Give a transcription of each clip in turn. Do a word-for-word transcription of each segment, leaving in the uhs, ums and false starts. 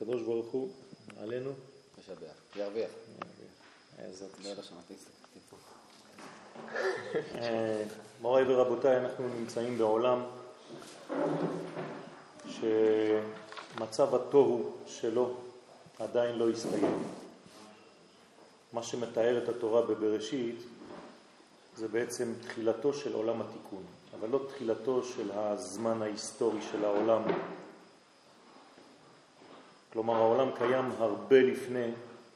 הקדוש ברוך הוא עלינו משבח, ירוויח. בעזרת לא יודע שמעתי, תיפו. מוריי ורבותיי, אנחנו נמצאים בעולם שמצב התוהו שלו עדיין לא הסתיים. מה שמתאר את התורה בבראשית זה בעצם תחילתו של עולם התיקון, אבל לא תחילתו של הזמן ההיסטורי של העולם. כלומר, העולם קיים הרבה לפני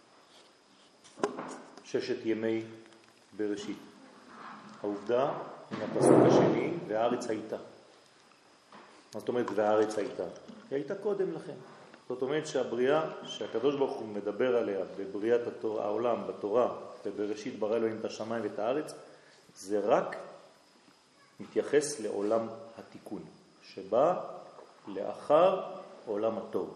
ששת ימי בראשית. העובדה, עם הפסוק השני, והארץ הייתה. מה זאת אומרת והארץ הייתה? היא הייתה קודם לכן. זאת אומרת שהבריאה, שהקדוש ברוך הוא מדבר עליה בבריאת התורה, העולם, בתורה, ובראשית ברא אלוהים את השמיים ואת הארץ, זה רק מתייחס לעולם התיקון, שבא לאחר עולם התוהו.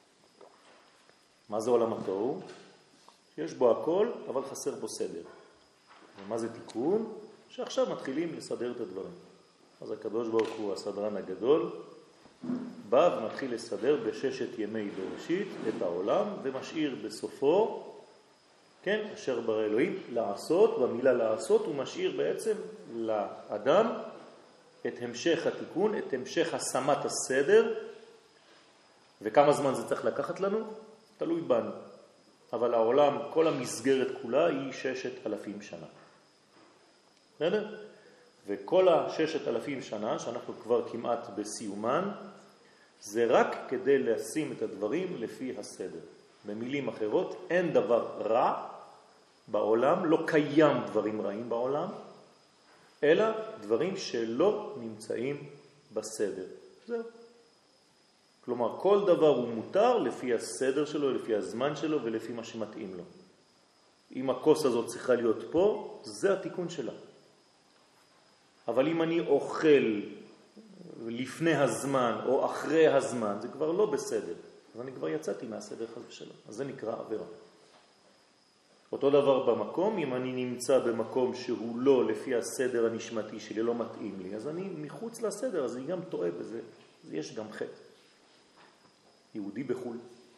מה זה עולם התוהו? יש בו הכל, אבל חסר בו סדר. ומה זה תיקון? שעכשיו מתחילים לסדר את הדברים. אז הקדוש ברוך הוא, הסדרן הגדול, בא ומתחיל לסדר בששת ימי בראשית את העולם, ומשאיר בסופו, כן, אשר ברא אלוהים, לעשות, במילה לעשות, הוא משאיר בעצם לאדם את המשך התיקון, את המשך השמת הסדר, וכמה זמן זה צריך לקחת לנו? תלוי בנו. אבל העולם, כל המסגרת כולה היא ששת אלפים שנה. בסדר? וכל הששת אלפים שנה, שאנחנו כבר כמעט בסיומן, זה רק כדי לשים את הדברים לפי הסדר. במילים אחרות, אין דבר רע בעולם, לא קיים דברים רעים בעולם, אלא דברים שלא נמצאים בסדר. זהו. כלומר, כל דבר הוא מותר לפי הסדר שלו, לפי הזמן שלו ולפי מה שמתאים לו. אם הכוס הזאת צריכה להיות פה, זה התיקון שלה. אבל אם אני אוכל לפני הזמן או אחרי הזמן, זה כבר לא בסדר. אז אני כבר יצאתי מהסדר חס ושלום. אז זה נקרא עבירה. אותו דבר במקום, אם אני נמצא במקום שהוא לא לפי הסדר הנשמתי שלי, לא מתאים לי, אז אני מחוץ לסדר, אז אני גם טועה בזה. אז יש גם חטא. יהודי בחול.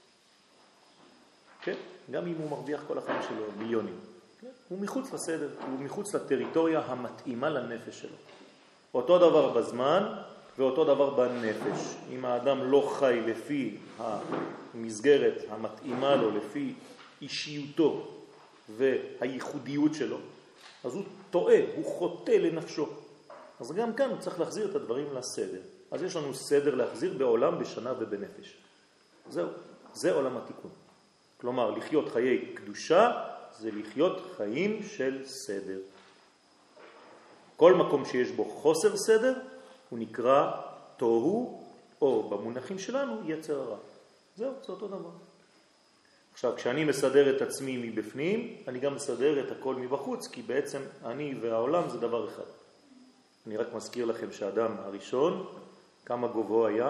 כן? גם אם הוא מרוויח כל החיים שלו מיליונים. כן? הוא מחוץ לסדר, הוא מחוץ לטריטוריה המתאימה לנפש שלו. אותו דבר בזמן ואותו דבר בנפש. אם האדם לא חי לפי המסגרת המתאימה לו, לפי אישיותו והייחודיות שלו, אז הוא טועה, הוא חוטא לנפשו. אז גם כאן הוא צריך להחזיר את הדברים לסדר. אז יש לנו סדר להחזיר בעולם, בשנה ובנפש. זהו, זה עולם התיקון. כלומר, לחיות חיי קדושה זה לחיות חיים של סדר. כל מקום שיש בו חוסר סדר הוא נקרא תוהו, או במונחים שלנו יצר הרע. זהו, זה אותו דבר. עכשיו, כשאני מסדר את עצמי מבפנים, אני גם מסדר את הכל מבחוץ, כי בעצם אני והעולם זה דבר אחד. אני רק מזכיר לכם שהאדם הראשון, כמה גובהו היה?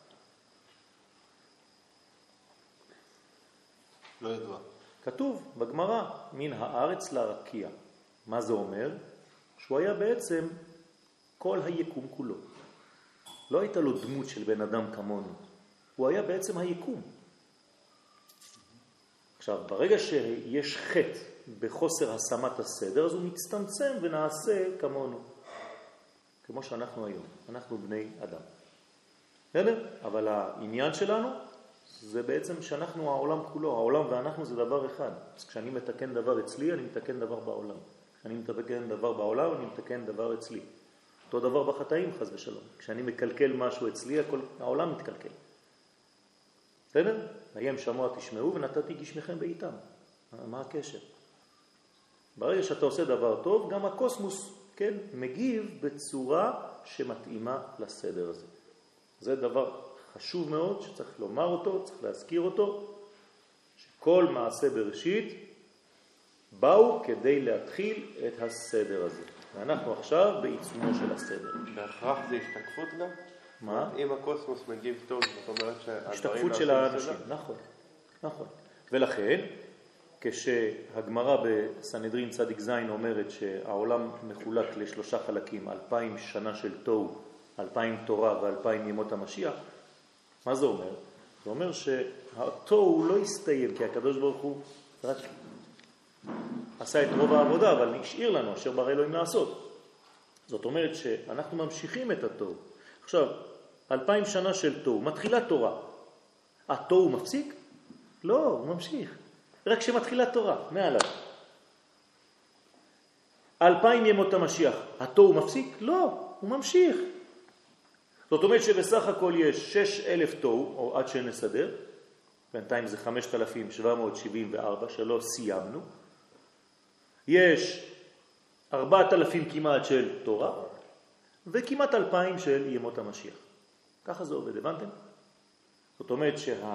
לא ידוע. כתוב בגמרא, מן הארץ לרקיע. מה זה אומר? שהוא היה בעצם כל היקום כולו. לא הייתה לו דמות של בן אדם כמונו. הוא היה בעצם היקום. עכשיו, ברגע שיש חטא בחוסר השמת הסדר, אז הוא מצטמצם ונעשה כמונו. כמו שאנחנו היום. אנחנו בני אדם. בסדר? אבל העניין שלנו זה בעצם שאנחנו העולם כולו. העולם ואנחנו זה דבר אחד. אז כשאני מתקן דבר אצלי, אני מתקן דבר בעולם. כשאני מתקן דבר בעולם, אני מתקן דבר אצלי. אותו דבר בחטאים, חס ושלום. כשאני מקלקל משהו אצלי, הכל, העולם מתקלקל. בסדר? הים שמוע תשמעו ונתתי גשמכם בעיתם. מה הקשר? ברגע שאתה עושה דבר טוב, גם הקוסמוס, כן, מגיב בצורה שמתאימה לסדר הזה. זה דבר חשוב מאוד שצריך לומר אותו, צריך להזכיר אותו, שכל מעשה בראשית באו כדי להתחיל את הסדר הזה. ואנחנו עכשיו בעיצומו של הסדר. בהכרח זה השתקפות גם? מה? אם הקוסמוס מגיב טוב, זאת אומרת שהדברים... השתקפות של האנשים, נכון, נכון. ולכן, כשהגמרא בסנהדרין צדיק זין אומרת שהעולם מחולק לשלושה חלקים, אלפיים שנה של תוהו, אלפיים תורה ואלפיים ימות המשיח, מה זה אומר? זה אומר שהתוהו לא הסתיים, כי הקדוש ברוך הוא רק עשה את רוב העבודה, אבל נשאיר לנו אשר ברא אלוהים לעשות. זאת אומרת שאנחנו ממשיכים את התוהו. עכשיו, אלפיים שנה של תוהו, מתחילה תורה. התוהו מפסיק? לא, הוא ממשיך. רק שמתחילה תורה, מעליו. אלפיים ימות המשיח, התוהו מפסיק? לא, הוא ממשיך. זאת אומרת שבסך הכל יש שש אלף תוהו, או עד שנסדר, בינתיים זה חמשת אלפים שבע מאות שבעים וארבע, שלא סיימנו. יש ארבעת אלפים כמעט של תורה, וכמעט אלפיים של ימות המשיח. ככה זה עובד, הבנתם? זאת אומרת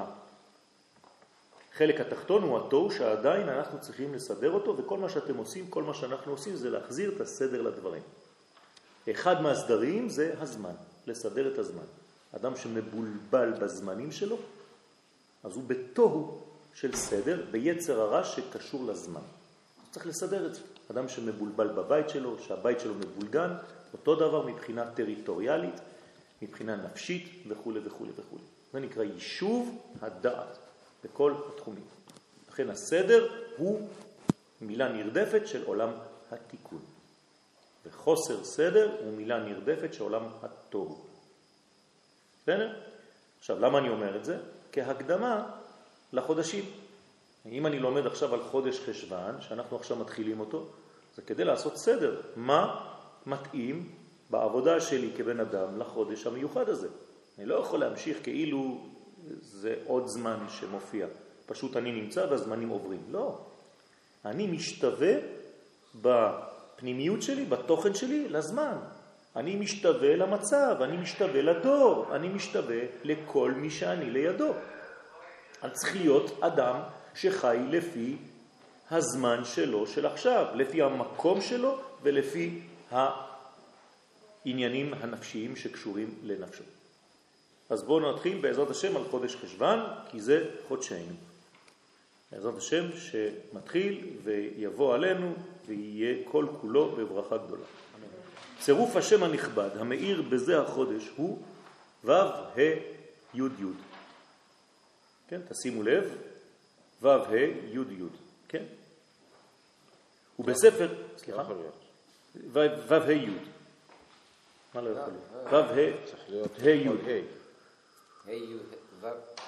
שהחלק התחתון הוא התוהו שעדיין אנחנו צריכים לסדר אותו, וכל מה שאתם עושים, כל מה שאנחנו עושים זה להחזיר את הסדר לדברים. אחד מהסדרים זה הזמן, לסדר את הזמן. אדם שמבולבל בזמנים שלו, אז הוא בתוהו של סדר, ביצר הרע שקשור לזמן. צריך לסדר את זה. אדם שמבולבל בבית שלו, שהבית שלו מבולגן, אותו דבר מבחינה טריטוריאלית, מבחינה נפשית וכו' וכו' וכו'. זה נקרא יישוב הדעת בכל התחומים. לכן הסדר הוא מילה נרדפת של עולם התיקון. וחוסר סדר הוא מילה נרדפת של עולם התוהו. בסדר? עכשיו, למה אני אומר את זה? כהקדמה לחודשים. אם אני לומד עכשיו על חודש חשבן, שאנחנו עכשיו מתחילים אותו, זה כדי לעשות סדר. מה מתאים בעבודה שלי כבן אדם לחודש המיוחד הזה? אני לא יכול להמשיך כאילו זה עוד זמן שמופיע. פשוט אני נמצא והזמנים עוברים. לא. אני משתווה בפנימיות שלי, בתוכן שלי, לזמן. אני משתווה למצב, אני משתווה לדור, אני משתווה לכל מי שאני לידו. אני צריך להיות אדם שחי לפי הזמן שלו של עכשיו, לפי המקום שלו ולפי העניינים הנפשיים שקשורים לנפשו. אז בואו נתחיל בעזרת השם על חודש חשבן, כי זה חודשנו. בעזרת השם שמתחיל ויבוא עלינו ויהיה כל כולו בברכה גדולה. צירוף השם הנכבד המאיר בזה החודש הוא ו' ה' י' י'. כן, תשימו לב, ו' ה' י' י'. כן? ובספר, סליחה? ו' ה' י'. מה לא יכול להיות? ו' ה' צריך להיות ה' י'. ה' ה' י' ו'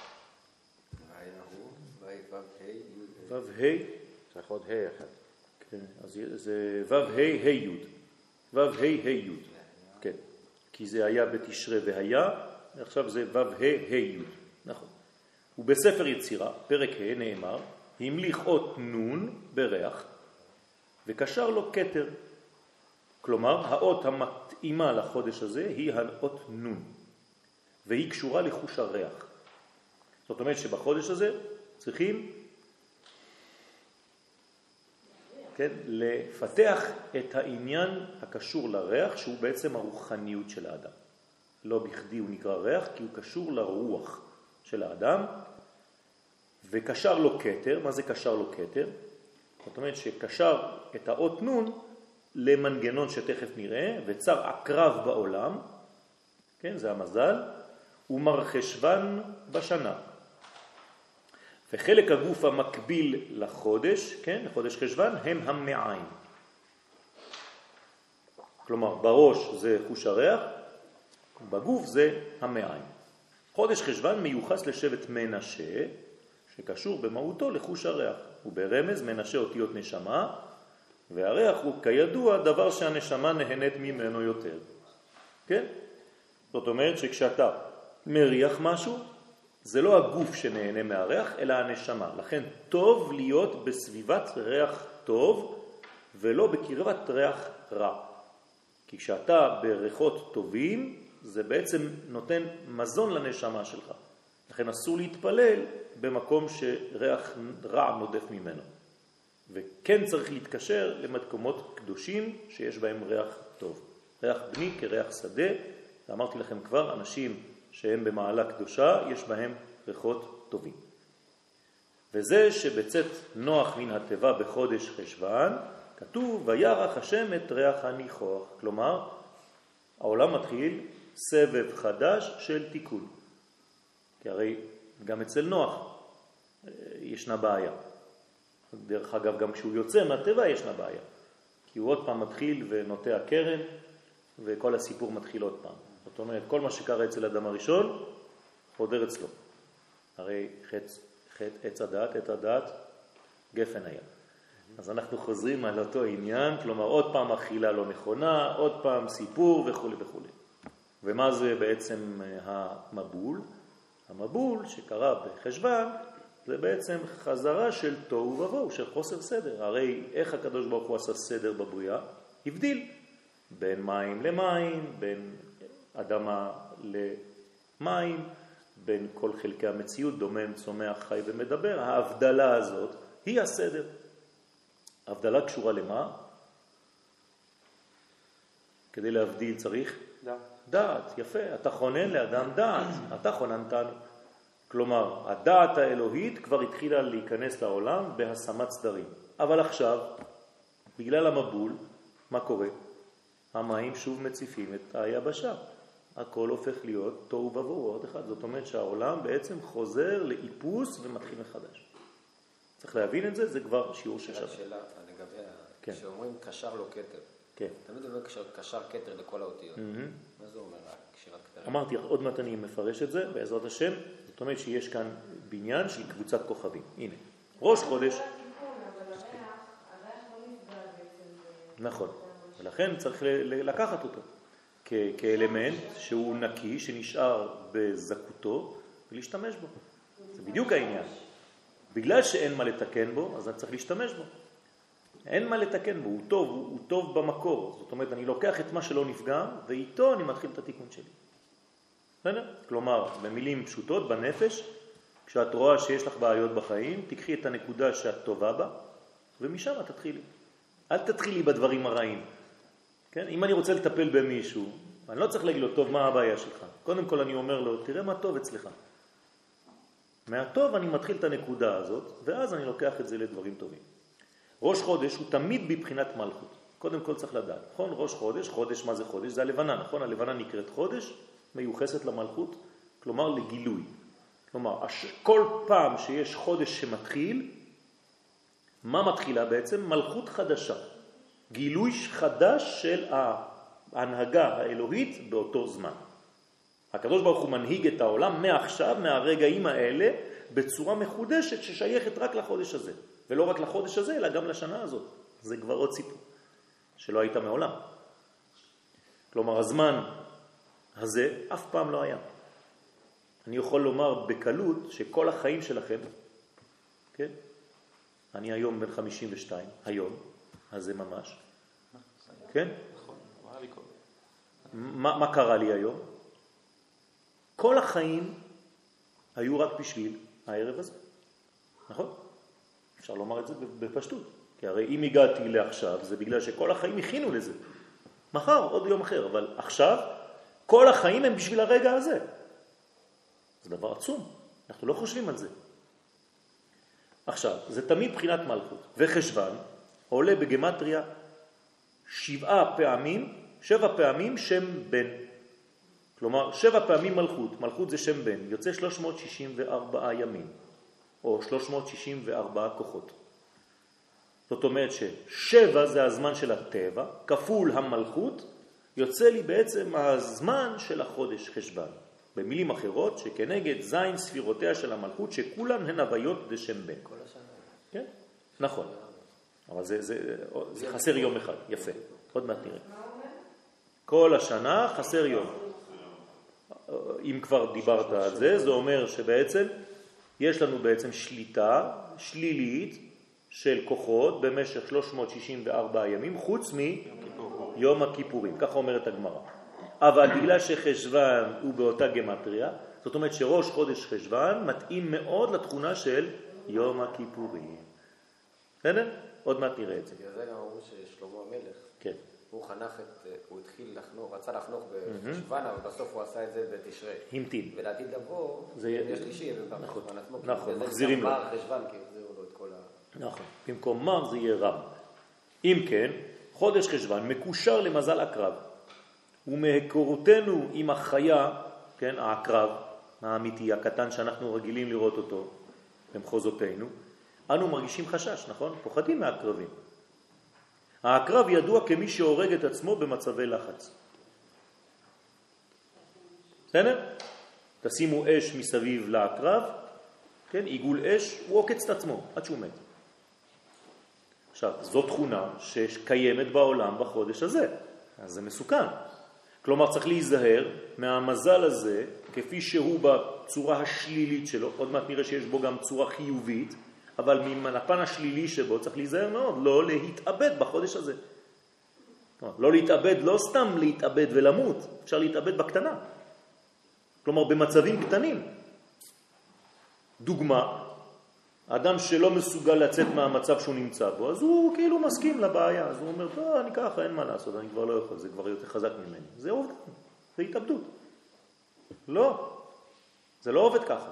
ו' ה' צריך עוד ה' אחד. כן, אז זה ו' ה' ה' י'. ו' ה' ה' י'. כן. כי זה היה בתשרה והיה, עכשיו זה ו' ה' ה' י'. נכון. ובספר יצירה, פרק ה' נאמר, המליך אות נון בריח וקשר לו כתר. כלומר, האות המתאימה לחודש הזה היא האות נון, והיא קשורה לחוש הריח. זאת אומרת שבחודש הזה צריכים כן, לפתח את העניין הקשור לריח, שהוא בעצם הרוחניות של האדם. לא בכדי הוא נקרא ריח, כי הוא קשור לרוח של האדם, וקשר לו כתר. מה זה קשר לו כתר? זאת אומרת שקשר את האות נון למנגנון שתכף נראה, וצר עקרב בעולם, כן, זה המזל, ומרחשוון בשנה. וחלק הגוף המקביל לחודש, כן, לחודש חשבן, הם המעיים. כלומר, בראש זה חוש הריח, בגוף זה המעיים. חודש חשבן מיוחס לשבט מנשה, שקשור במהותו לחוש הריח. וברמז מנשה אותיות נשמה, והריח הוא כידוע דבר שהנשמה נהנית ממנו יותר. כן? זאת אומרת שכשאתה מריח משהו, זה לא הגוף שנהנה מהריח, אלא הנשמה. לכן טוב להיות בסביבת ריח טוב, ולא בקרבת ריח רע. כי כשאתה בריחות טובים, זה בעצם נותן מזון לנשמה שלך. לכן אסור להתפלל במקום שריח רע נודף ממנו. וכן צריך להתקשר למקומות קדושים שיש בהם ריח טוב. ריח בני כריח שדה, ואמרתי לכם כבר, אנשים שהם במעלה קדושה, יש בהם ריחות טובים. וזה שבצאת נוח מן הטבע בחודש חשבן, כתוב, וירח השם את ריח הניחוח. כלומר, העולם מתחיל סבב חדש של תיקון. כי הרי גם אצל נוח ישנה בעיה. דרך אגב, גם כשהוא יוצא מהטבע ישנה בעיה. כי הוא עוד פעם מתחיל ונוטע קרן, וכל הסיפור מתחיל עוד פעם. זאת אומרת, כל מה שקרה אצל אדם הראשון, חודר אצלו. הרי חץ, חץ, עץ הדעת, עץ הדעת, גפן היה. אז אנחנו חוזרים על אותו עניין, כלומר עוד פעם אכילה לא נכונה, עוד פעם סיפור וכו' וכו'. ומה זה בעצם המבול? המבול שקרה בחשבן, זה בעצם חזרה של תוהו ובוהו, של חוסר סדר. הרי איך הקדוש ברוך הוא עשה סדר בבריאה? הבדיל בין מים למים, בין אדמה למים, בין כל חלקי המציאות, דומם, צומח, חי ומדבר. ההבדלה הזאת היא הסדר. ההבדלה קשורה למה? כדי להבדיל צריך דעת. דעת, יפה. אתה חונן לאדם דעת, אתה חוננתנו. כלומר, הדעת האלוהית כבר התחילה להיכנס לעולם בהשמת סדרים. אבל עכשיו, בגלל המבול, מה קורה? המים שוב מציפים את היבשה. הכל הופך להיות תוהו ובוהו עוד אחד. זאת אומרת שהעולם בעצם חוזר לאיפוס ומתחיל מחדש. צריך להבין את זה, זה כבר שיעור ששווה. שאלה לגבי, כן. כשאומרים קשר לו כתר, כן. תמיד אומר קשר כתר לכל האותיות. מה זה אומר? קשירת כתר? אמרתי, עוד מעט אני מפרש את זה, בעזרת השם. זאת אומרת שיש כאן בניין של קבוצת כוכבים. הנה, ראש חודש. נכון. ולכן צריך לקחת אותו כאלמנט שהוא נקי, שנשאר בזכותו, ולהשתמש בו. זה בדיוק העניין. בגלל שאין מה לתקן בו, אז אני צריך להשתמש בו. אין מה לתקן בו, הוא טוב, הוא, הוא טוב במקור. זאת אומרת, אני לוקח את מה שלא נפגע, ואיתו אני מתחיל את התיקון שלי. בסדר? כלומר, במילים פשוטות, בנפש, כשאת רואה שיש לך בעיות בחיים, תקחי את הנקודה שאת טובה בה, ומשם תתחילי. אל תתחילי בדברים הרעים. כן? אם אני רוצה לטפל במישהו, אני לא צריך להגיד לו, טוב, מה הבעיה שלך? קודם כל אני אומר לו, תראה מה טוב אצלך. מהטוב אני מתחיל את הנקודה הזאת, ואז אני לוקח את זה לדברים טובים. ראש חודש הוא תמיד בבחינת מלכות. קודם כל צריך לדעת. נכון? ראש חודש, חודש, מה זה חודש? זה הלבנה, נכון? הלבנה נקראת חודש, מיוחסת למלכות, כלומר לגילוי. כלומר, כל פעם שיש חודש שמתחיל, מה מתחילה בעצם? מלכות חדשה. גילוי חדש של ההנהגה האלוהית באותו זמן. הקדוש ברוך הוא מנהיג את העולם מעכשיו, מהרגעים האלה, בצורה מחודשת ששייכת רק לחודש הזה. ולא רק לחודש הזה, אלא גם לשנה הזאת. זה כבר עוד סיפור, שלא הייתה מעולם. כלומר, הזמן הזה אף פעם לא היה. אני יכול לומר בקלות שכל החיים שלכם, כן? אני היום בן חמישים ושתיים, היום, אז זה ממש. כן? נכון, מה לי קודם? מה, מה קרה לי היום? כל החיים היו רק בשביל הערב הזה. נכון? אפשר לומר את זה בפשטות. כי הרי אם הגעתי לעכשיו, זה בגלל שכל החיים הכינו לזה. מחר, עוד יום אחר, אבל עכשיו, כל החיים הם בשביל הרגע הזה. זה דבר עצום. אנחנו לא חושבים על זה. עכשיו, זה תמיד בחינת מלכות. וחשבן עולה בגמטריה שבעה פעמים, שבע פעמים שם בן. כלומר, שבע פעמים מלכות. מלכות זה שם בן. יוצא שלוש מאות שישים וארבעה ימים. או שלוש מאות שישים וארבעה כוחות. זאת אומרת ששבע זה הזמן של הטבע, כפול המלכות, יוצא לי בעצם הזמן של החודש חשבן. במילים אחרות, שכנגד זין ספירותיה של המלכות, שכולן הן הוויות דשם בן. כל השנה. כן? נכון. אבל זה, זה, זה חסר יום אחד. יפה. עוד מעט נראה. כל השנה חסר יום. אם כבר דיברת על זה, זה אומר שבעצם יש לנו בעצם שליטה שלילית של כוחות במשך שלוש מאות שישים וארבעה ימים, חוץ מיום הכיפורים. ככה אומרת הגמרא. אבל בגלל שחשבן הוא באותה גמטריה, זאת אומרת שראש חודש חשבן מתאים מאוד לתכונה של יום הכיפורים. בסדר? עוד מעט נראה את זה. בגלל זה גם אמרו ששלמה המלך, כן. הוא חנך את, הוא התחיל לחנוך, רצה לחנוך בחשבן, אבל בסוף הוא עשה את זה בתשרי. המתין. ולעתיד לבוא, יש שלישי, נכון, עצמו, נכון, מחזירים לו. זה גם חשבן, כי החזירו לו את כל ה... נכון, במקום מר זה יהיה רם. אם כן, חודש חשבן מקושר למזל הקרב. ומהיכרותנו עם החיה, כן, העקרב, האמיתי, הקטן שאנחנו רגילים לראות אותו במחוזותינו, אנו מרגישים חשש, נכון? פוחדים מהקרבים. הקרב ידוע כמי שהורג את עצמו במצבי לחץ. בסדר? תשימו אש מסביב לקרב, כן? עיגול אש, הוא עוקץ את עצמו עד שהוא מת. עכשיו, זו תכונה שקיימת בעולם בחודש הזה, אז זה מסוכן. כלומר, צריך להיזהר מהמזל הזה, כפי שהוא בצורה השלילית שלו, עוד מעט נראה שיש בו גם צורה חיובית, אבל מן הפן השלילי שבו צריך להיזהר מאוד, לא להתאבד בחודש הזה. לא להתאבד, לא סתם להתאבד ולמות, אפשר להתאבד בקטנה. כלומר, במצבים קטנים. דוגמה, אדם שלא מסוגל לצאת מהמצב שהוא נמצא בו, אז הוא כאילו מסכים לבעיה, אז הוא אומר, טוב, אני ככה, אין מה לעשות, אני כבר לא יכול, זה כבר יותר חזק ממני. זה עובד, זה התאבדות. לא, זה לא עובד ככה.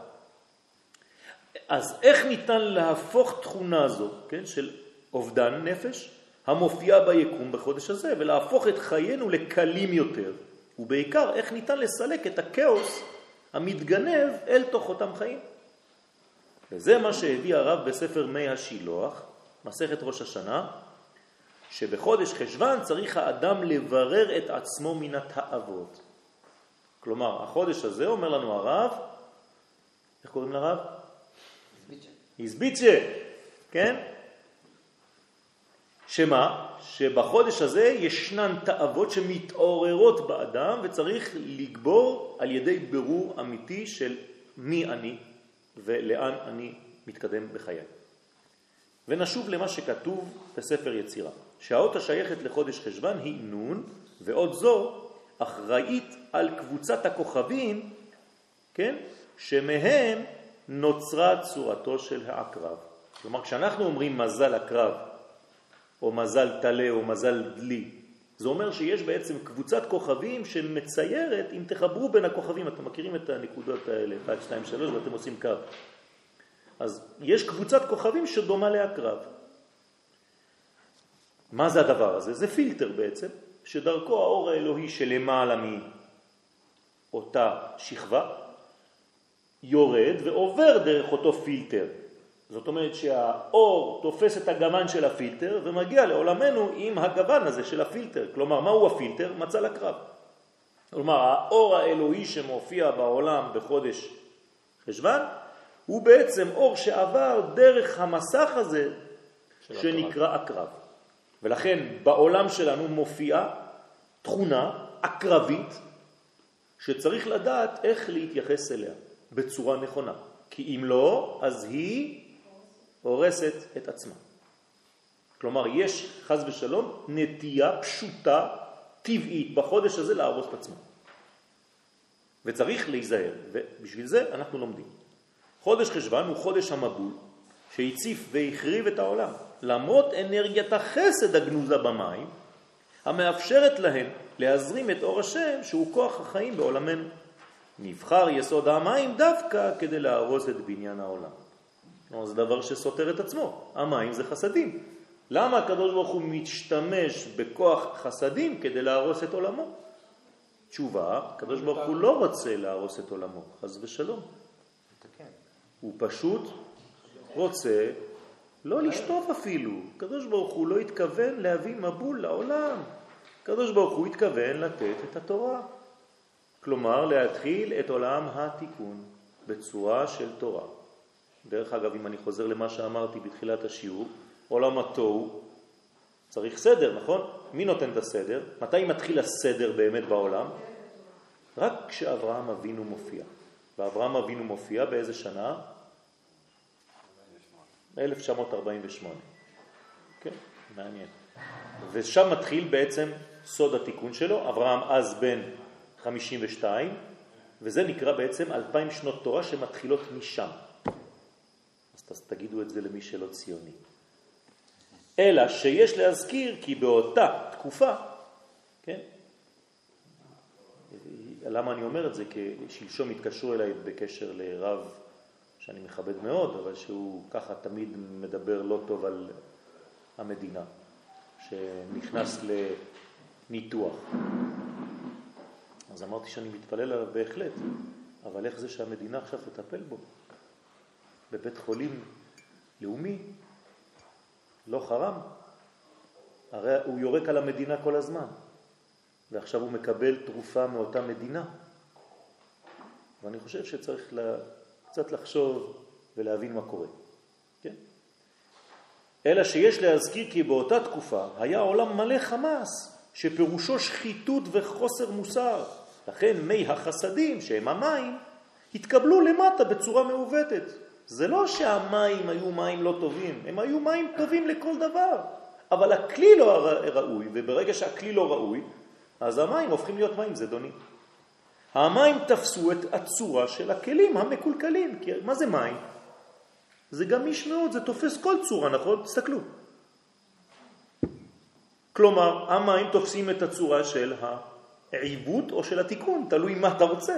אז איך ניתן להפוך תכונה הזו, כן, של אובדן נפש, המופיעה ביקום בחודש הזה, ולהפוך את חיינו לקלים יותר, ובעיקר איך ניתן לסלק את הכאוס המתגנב אל תוך אותם חיים. וזה מה שהביא הרב בספר מי השילוח, מסכת ראש השנה, שבחודש חשבן צריך האדם לברר את עצמו מן התאוות. כלומר, החודש הזה אומר לנו הרב, איך קוראים לרב? איזביצ'ה, כן? שמה? שבחודש הזה ישנן תאוות שמתעוררות באדם וצריך לגבור על ידי ברור אמיתי של מי אני ולאן אני מתקדם בחיי. ונשוב למה שכתוב בספר יצירה, שהאות השייכת לחודש חשבן היא נון, ועוד זו אחראית על קבוצת הכוכבים, כן? שמהם נוצרה צורתו של העקרב. כלומר, כשאנחנו אומרים מזל הקרב, או מזל תלה, או מזל דלי, זה אומר שיש בעצם קבוצת כוכבים שמציירת, אם תחברו בין הכוכבים, אתם מכירים את הנקודות האלה, אחת, שתיים, שלוש, ואתם עושים קו. אז יש קבוצת כוכבים שדומה להקרב. מה זה הדבר הזה? זה פילטר בעצם, שדרכו האור האלוהי שלמעלה מאותה שכבה, יורד ועובר דרך אותו פילטר. זאת אומרת שהאור תופס את הגוון של הפילטר ומגיע לעולמנו עם הגוון הזה של הפילטר. כלומר, מהו הפילטר? מצל הקרב. כלומר, האור האלוהי שמופיע בעולם בחודש חשבן, הוא בעצם אור שעבר דרך המסך הזה שנקרא הקרב. ולכן בעולם שלנו מופיעה תכונה אקרבית שצריך לדעת איך להתייחס אליה בצורה נכונה. כי אם לא, אז היא הורסת את עצמה. כלומר, יש חס ושלום נטייה פשוטה, טבעית, בחודש הזה להרוס את עצמה. וצריך להיזהר, ובשביל זה אנחנו לומדים. חודש חשבן הוא חודש המבול, שהציף והחריב את העולם, למרות אנרגיית החסד הגנוזה במים, המאפשרת להן להזרים את אור השם, שהוא כוח החיים בעולמנו. נבחר יסוד המים דווקא כדי להרוס את בניין העולם. זה דבר שסותר את עצמו. המים זה חסדים. למה הקדוש ברוך הוא משתמש בכוח חסדים כדי להרוס את עולמו? תשובה, הקדוש ברוך הוא לא רוצה להרוס את עולמו, חס ושלום. הוא פשוט רוצה לא לשטוף אפילו. הקדוש ברוך הוא לא התכוון להביא מבול לעולם. הקדוש ברוך הוא התכוון לתת את התורה. כלומר, להתחיל את עולם התיקון בצורה של תורה. דרך אגב, אם אני חוזר למה שאמרתי בתחילת השיעור, עולם התוהו צריך סדר, נכון? מי נותן את הסדר? מתי מתחיל הסדר באמת בעולם? רק כשאברהם אבינו מופיע. ואברהם אבינו מופיע באיזה שנה? אלף תשע מאות ארבעים ושמונה. כן, מעניין. ושם מתחיל בעצם סוד התיקון שלו. אברהם אז בן חמישים ושתיים, וזה נקרא בעצם אלפיים שנות תורה שמתחילות משם. אז תגידו את זה למי שלא ציוני. אלא שיש להזכיר כי באותה תקופה, כן? למה אני אומר את זה? כי שלשום התקשרו אליי בקשר לרב שאני מכבד מאוד, אבל שהוא ככה תמיד מדבר לא טוב על המדינה, שנכנס לניתוח. אז אמרתי שאני מתפלל עליו בהחלט, אבל איך זה שהמדינה עכשיו תטפל בו? בבית חולים לאומי? לא חרם? הרי הוא יורק על המדינה כל הזמן, ועכשיו הוא מקבל תרופה מאותה מדינה. ואני חושב שצריך לה, קצת לחשוב ולהבין מה קורה. כן? אלא שיש להזכיר כי באותה תקופה היה עולם מלא חמאס, שפירושו שחיתות וחוסר מוסר. לכן מי החסדים, שהם המים, התקבלו למטה בצורה מעוותת. זה לא שהמים היו מים לא טובים, הם היו מים טובים לכל דבר. אבל הכלי לא ראוי, וברגע שהכלי לא ראוי, אז המים הופכים להיות מים זדונים. המים תפסו את הצורה של הכלים המקולקלים. כי מה זה מים? זה גמיש מאוד, זה תופס כל צורה, נכון? תסתכלו. כלומר, המים תופסים את הצורה של העיוות או של התיקון, תלוי מה אתה רוצה.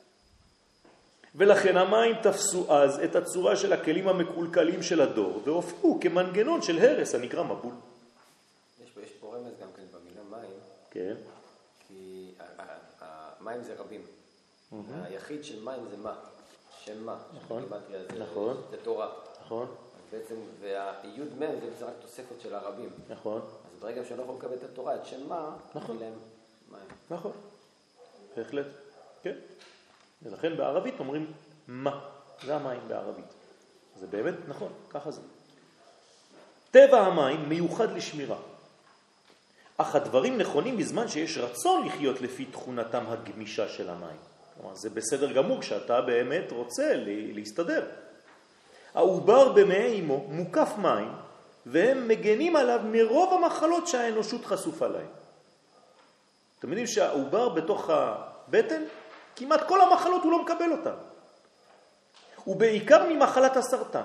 ולכן המים תפסו אז את הצורה של הכלים המקולקלים של הדור, והופכו כמנגנון של הרס הנקרא מבול. יש פה, יש פה רמז גם כן במילה מים. כן. כי המים זה רבים. היחיד של מים זה מה? שם מה? נכון. זה, נכון. זה תורה. נכון. בעצם, והיוד מן זה בעצם רק תוספת של הרבים. נכון. אז ברגע שלא יכול לקבל את התורה, את שם מה, נכון. להם מים. נכון. בהחלט. כן. ולכן בערבית אומרים מה. זה המים בערבית. זה באמת נכון, ככה זה. טבע המים מיוחד לשמירה. אך הדברים נכונים בזמן שיש רצון לחיות לפי תכונתם הגמישה של המים. כלומר, זה בסדר גמור כשאתה באמת רוצה להסתדר. העובר במעי אמו מוקף מים, והם מגנים עליו מרוב המחלות שהאנושות חשופה להם. אתם יודעים שהעובר בתוך הבטן, כמעט כל המחלות הוא לא מקבל אותן. ובעיקר ממחלת הסרטן.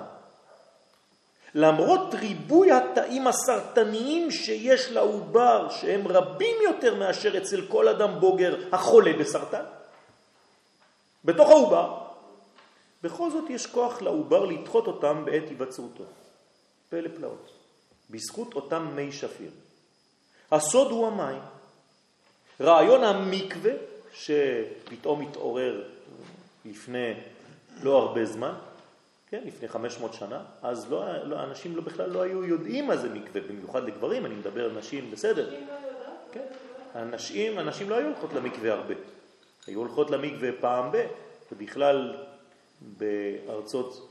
למרות ריבוי התאים הסרטניים שיש לעובר, שהם רבים יותר מאשר אצל כל אדם בוגר החולה בסרטן, בתוך העובר, בכל זאת יש כוח לעובר לדחות אותם בעת היווצרותו. פלא פלאות. בזכות אותם מי שפיר. הסוד הוא המים. רעיון המקווה, שפתאום התעורר לפני לא הרבה זמן, כן, לפני חמש מאות שנה, אז לא, לא, אנשים לא, בכלל לא היו יודעים מה זה מקווה, במיוחד לגברים, אני מדבר על נשים, בסדר. כן. הנשים, הנשים לא היו הולכות למקווה הרבה. היו הולכות למקווה פעם ב, ובכלל בארצות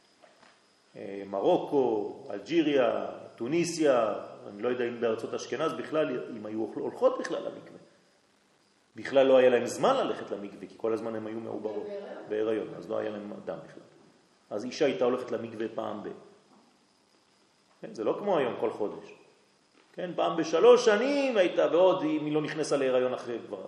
מרוקו, אלג'יריה, טוניסיה, אני לא יודע אם בארצות אשכנז בכלל, אם היו הולכות בכלל למקווה. בכלל לא היה להם זמן ללכת למקווה, כי כל הזמן הם היו מעוברות, בהיריון, אז לא היה להם אדם בכלל. אז אישה הייתה הולכת למקווה פעם ב. כן, זה לא כמו היום כל חודש. כן, פעם בשלוש שנים הייתה, ועוד אם היא לא נכנסה להיריון אחרי כבר.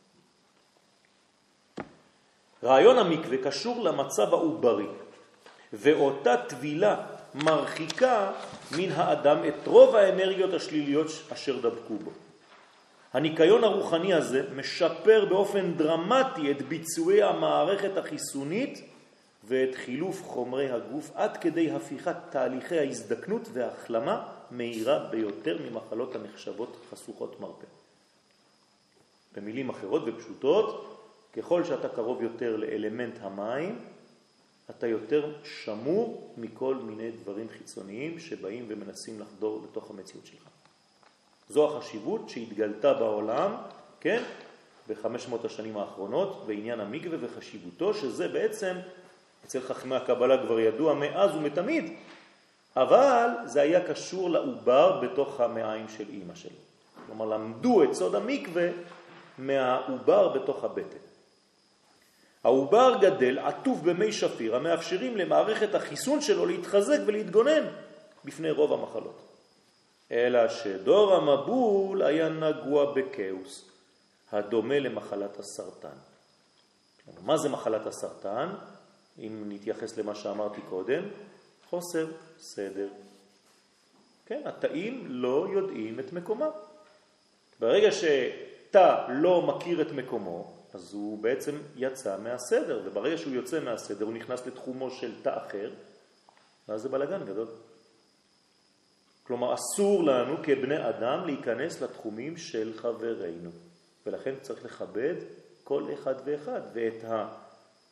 רעיון המקווה קשור למצב העוברי, ואותה טבילה מרחיקה מן האדם את רוב האנרגיות השליליות אשר דבקו בו. הניקיון הרוחני הזה משפר באופן דרמטי את ביצועי המערכת החיסונית ואת חילוף חומרי הגוף עד כדי הפיכת תהליכי ההזדקנות וההחלמה מהירה ביותר ממחלות הנחשבות חשוכות מרפא. במילים אחרות ופשוטות, ככל שאתה קרוב יותר לאלמנט המים, אתה יותר שמור מכל מיני דברים חיצוניים שבאים ומנסים לחדור לתוך המציאות שלך. זו החשיבות שהתגלתה בעולם, כן, בחמש מאות השנים האחרונות, בעניין המקווה וחשיבותו, שזה בעצם, אצל חכמי הקבלה כבר ידוע מאז ומתמיד, אבל זה היה קשור לעובר בתוך המעיים של אמא שלו. כלומר, למדו את סוד המקווה מהעובר בתוך הבטן. העובר גדל עטוף במי שפיר המאפשרים למערכת החיסון שלו להתחזק ולהתגונן בפני רוב המחלות. אלא שדור המבול היה נגוע בקאוס, הדומה למחלת הסרטן. מה זה מחלת הסרטן? אם נתייחס למה שאמרתי קודם, חוסר סדר. כן, התאים לא יודעים את מקומם. ברגע שתא לא מכיר את מקומו, אז הוא בעצם יצא מהסדר, וברגע שהוא יוצא מהסדר הוא נכנס לתחומו של תא אחר, ואז זה בלגן גדול. כלומר, אסור לנו כבני אדם להיכנס לתחומים של חברינו, ולכן צריך לכבד כל אחד ואחד, ואת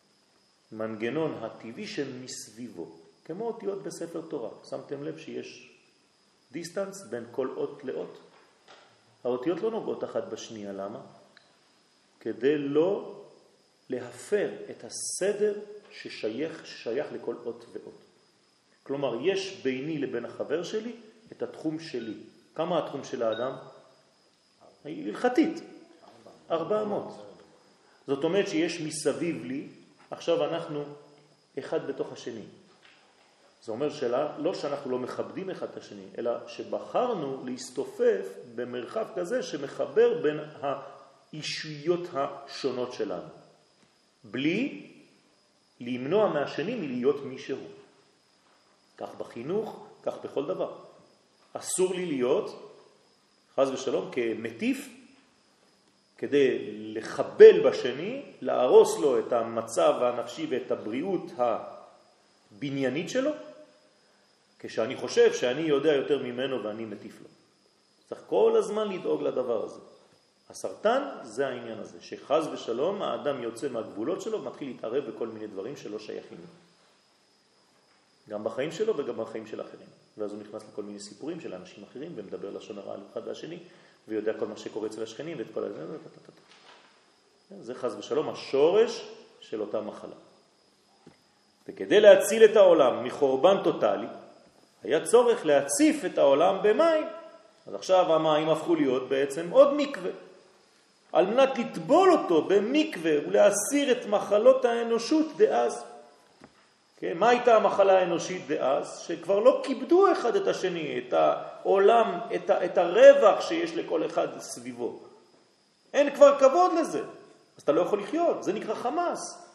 מנגנון הטבעי שמסביבו, כמו אותיות בספר תורה. שמתם לב שיש דיסטנס בין כל אות לאות? האותיות לא נוגעות אחת בשנייה, למה? כדי לא להפר את הסדר ששייך, ששייך לכל אות ואות. כלומר, יש ביני לבין החבר שלי את התחום שלי. כמה התחום של האדם? הלכתית. ארבע אמות. זאת אומרת שיש מסביב לי, עכשיו אנחנו אחד בתוך השני. זה אומר שלה, לא שאנחנו לא מכבדים אחד את השני, אלא שבחרנו להסתופף במרחב כזה שמחבר בין האישויות השונות שלנו. בלי למנוע מהשני מלהיות מישהו. כך בחינוך, כך בכל דבר. אסור לי להיות, חס ושלום, כמטיף, כדי לחבל בשני, להרוס לו את המצב הנפשי ואת הבריאות הבניינית שלו, כשאני חושב שאני יודע יותר ממנו ואני מטיף לו. צריך כל הזמן לדאוג לדבר הזה. הסרטן זה העניין הזה, שחז ושלום האדם יוצא מהגבולות שלו ומתחיל להתערב בכל מיני דברים שלא שייכים לו. גם בחיים שלו וגם בחיים של אחרים. ואז הוא נכנס לכל מיני סיפורים של אנשים אחרים ומדבר לשון הרע על אחד והשני, ויודע כל מה שקורה אצל השכנים ואת כל הזה. זה חז ושלום השורש של אותה מחלה. וכדי להציל את העולם מחורבן טוטלי, היה צורך להציף את העולם במים. אז עכשיו המים הפכו להיות בעצם עוד מקווה. על מנת לטבול אותו במקווה ולהסיר את מחלות האנושות דאז. כן, מה הייתה המחלה האנושית דאז? שכבר לא כיבדו אחד את השני, את העולם, את, ה, את הרווח שיש לכל אחד סביבו. אין כבר כבוד לזה. אז אתה לא יכול לחיות, זה נקרא חמאס.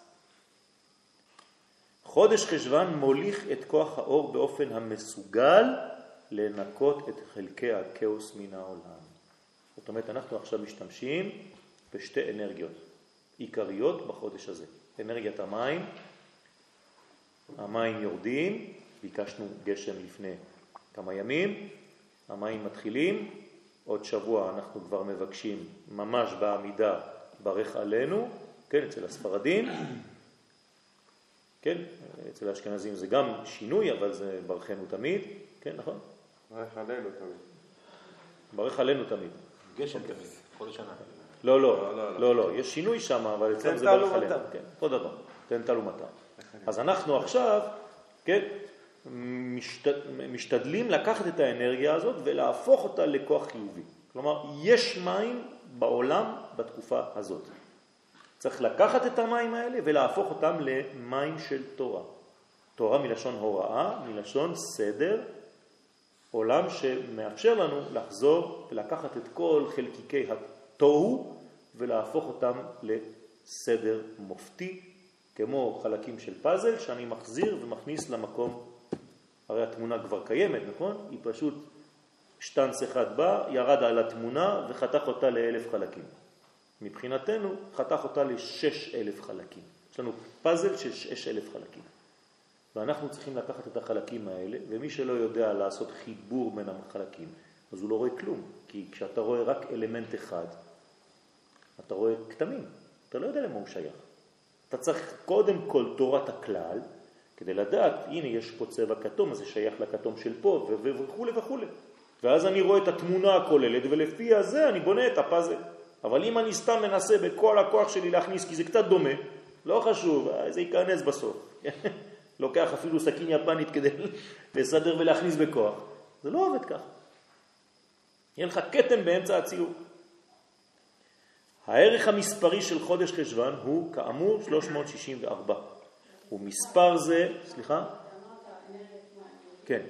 חודש חשבן מוליך את כוח האור באופן המסוגל לנקות את חלקי הכאוס מן העולם. זאת אומרת, אנחנו עכשיו משתמשים בשתי אנרגיות עיקריות בחודש הזה. אנרגיית המים, המים יורדים, ביקשנו גשם לפני כמה ימים, המים מתחילים, עוד שבוע אנחנו כבר מבקשים ממש בעמידה ברך עלינו, כן, אצל הספרדים, כן, אצל האשכנזים זה גם שינוי, אבל זה ברכנו תמיד, כן, נכון? ברך עלינו תמיד. ברך עלינו תמיד. גשם תמיד, כל השנה. לא, לא, לא, לא, יש שינוי שם, אבל אצלם זה ברך עלינו, כן, אותו דבר, תן תל ומטה. אז אנחנו עכשיו, כן, משתדלים לקחת את האנרגיה הזאת ולהפוך אותה לכוח חיובי. כלומר, יש מים בעולם בתקופה הזאת. צריך לקחת את המים האלה ולהפוך אותם למים של תורה. תורה מלשון הוראה, מלשון סדר, עולם שמאפשר לנו לחזור ולקחת את כל חלקיקי התוהו ולהפוך אותם לסדר מופתי, כמו חלקים של פאזל שאני מחזיר ומכניס למקום. הרי התמונה כבר קיימת, נכון? היא פשוט שטנץ אחד בא, ירד על התמונה וחתך אותה לאלף חלקים. מבחינתנו חתך אותה לשש אלף חלקים. יש לנו פאזל של שש אלף חלקים. ואנחנו צריכים לקחת את החלקים האלה, ומי שלא יודע לעשות חיבור בין החלקים, אז הוא לא רואה כלום. כי כשאתה רואה רק אלמנט אחד, אתה רואה כתמים. אתה לא יודע למה הוא שייך. אתה צריך קודם כל תורת הכלל, כדי לדעת, הנה יש פה צבע כתום, אז זה שייך לכתום של פה, וכו' וכו'. ואז אני רואה את התמונה הכוללת, ולפי הזה אני בונה את הפאזל. אבל אם אני סתם מנסה בכל הכוח שלי להכניס, כי זה קצת דומה, לא חשוב, זה ייכנס בסוף. לוקח אפילו סכין יפנית כדי לסדר ולהכניס בכוח. זה לא עובד כך. יהיה לך קטן באמצע הציור. הערך המספרי של חודש חשבן הוא כאמור שלוש מאות שישים וארבע. ומספר זה, סליחה? כן.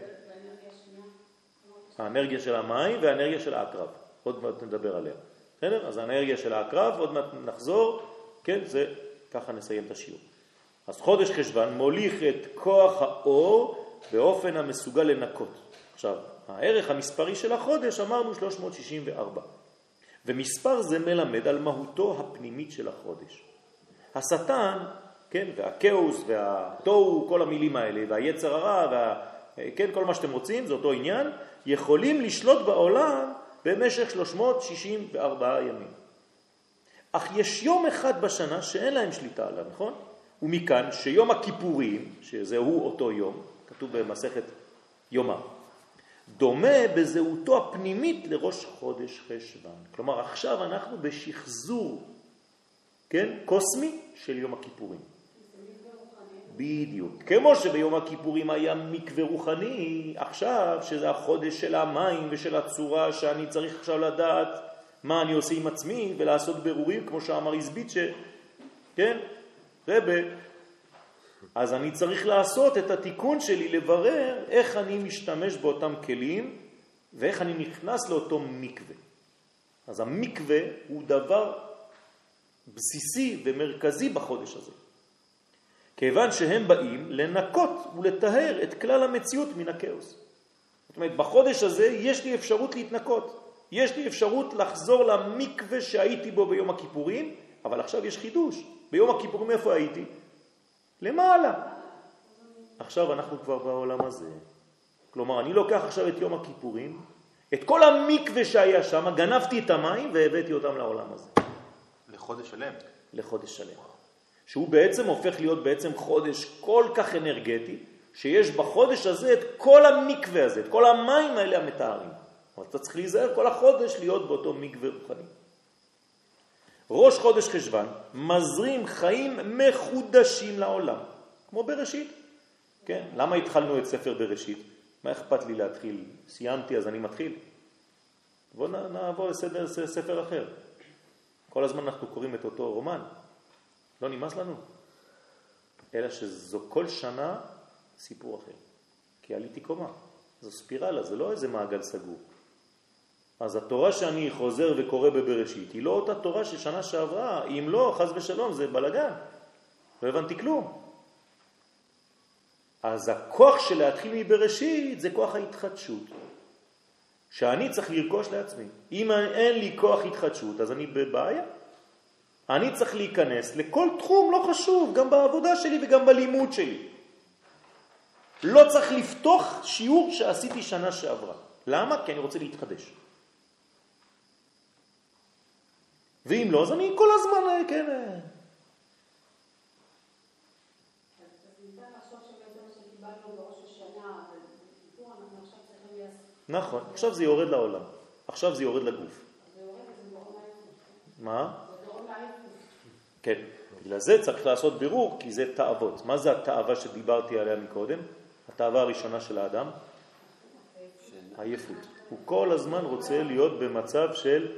האנרגיה של המים והאנרגיה של העקרב. עוד מעט נדבר עליה. בסדר? אז האנרגיה של העקרב, עוד מעט נחזור. כן, זה, ככה נסיים את השיעור. אז חודש חשבן מוליך את כוח האור באופן המסוגל לנקות. עכשיו, הערך המספרי של החודש אמרנו שלוש מאות שישים וארבע. ומספר זה מלמד על מהותו הפנימית של החודש. השטן, כן, והכאוס והתוהו, כל המילים האלה, והיצר הרע, וה, כן, כל מה שאתם רוצים, זה אותו עניין, יכולים לשלוט בעולם במשך שלוש מאות שישים וארבע ימים. אך יש יום אחד בשנה שאין להם שליטה עליו, נכון? ומכאן שיום הכיפורים, שזהו אותו יום, כתוב במסכת יומא, דומה בזהותו הפנימית לראש חודש חשוון. כלומר, עכשיו אנחנו בשחזור, כן, קוסמי של יום הכיפורים. בדיוק. כמו שביום הכיפורים היה מקווה רוחני, עכשיו שזה החודש של המים ושל הצורה שאני צריך עכשיו לדעת מה אני עושה עם עצמי ולעשות ברורים, כמו שאמר איזביצ'ה, כן? רבה. אז אני צריך לעשות את התיקון שלי, לברר איך אני משתמש באותם כלים ואיך אני נכנס לאותו מקווה. אז המקווה הוא דבר בסיסי ומרכזי בחודש הזה. כיוון שהם באים לנקות ולטהר את כלל המציאות מן הכאוס. זאת אומרת, בחודש הזה יש לי אפשרות להתנקות. יש לי אפשרות לחזור למקווה שהייתי בו ביום הכיפורים, אבל עכשיו יש חידוש. ביום הכיפורים איפה הייתי? למעלה. עכשיו אנחנו כבר בעולם הזה. כלומר, אני לוקח עכשיו את יום הכיפורים, את כל המקווה שהיה שם, גנבתי את המים והבאתי אותם לעולם הזה. לחודש שלם. לחודש שלם. שהוא בעצם הופך להיות בעצם חודש כל כך אנרגטי, שיש בחודש הזה את כל המקווה הזה, את כל המים האלה המתארים. אבל אתה צריך להיזהר כל החודש להיות באותו מקווה רוחני. ראש חודש חשוון מזרים חיים מחודשים לעולם, כמו בראשית. כן? למה התחלנו את ספר בראשית? מה אכפת לי להתחיל? סיימתי אז אני מתחיל. בואו נעבור לסדר ספר אחר. כל הזמן אנחנו קוראים את אותו רומן. לא נמאס לנו. אלא שזו כל שנה סיפור אחר. כי עליתי קומה. זו ספירלה, זה לא איזה מעגל סגור. אז התורה שאני חוזר וקורא בבראשית היא לא אותה תורה ששנה שעברה. אם לא, חס ושלום, זה בלגן. לא הבנתי כלום. אז הכוח של להתחיל מבראשית זה כוח ההתחדשות. שאני צריך לרכוש לעצמי. אם אין לי כוח התחדשות, אז אני בבעיה. אני צריך להיכנס לכל תחום, לא חשוב, גם בעבודה שלי וגם בלימוד שלי. לא צריך לפתוח שיעור שעשיתי שנה שעברה. למה? כי אני רוצה להתחדש. ואם לא, אז אני כל הזמן, כן. אז ניתן לחשוב שבעצם מה שקיבלנו בראש השנה, אבל בקיפור אנחנו עכשיו צריכים לעשות. נכון, עכשיו זה יורד לעולם. עכשיו זה יורד לגוף. אז זה יורד, אז זה גורם לעייפות. מה? זה גורם לעייפות. כן, בגלל זה צריך לעשות בירור, כי זה תאוות. מה זה התאווה שדיברתי עליה מקודם? התאווה הראשונה של האדם? עייפות. הוא כל הזמן רוצה להיות במצב של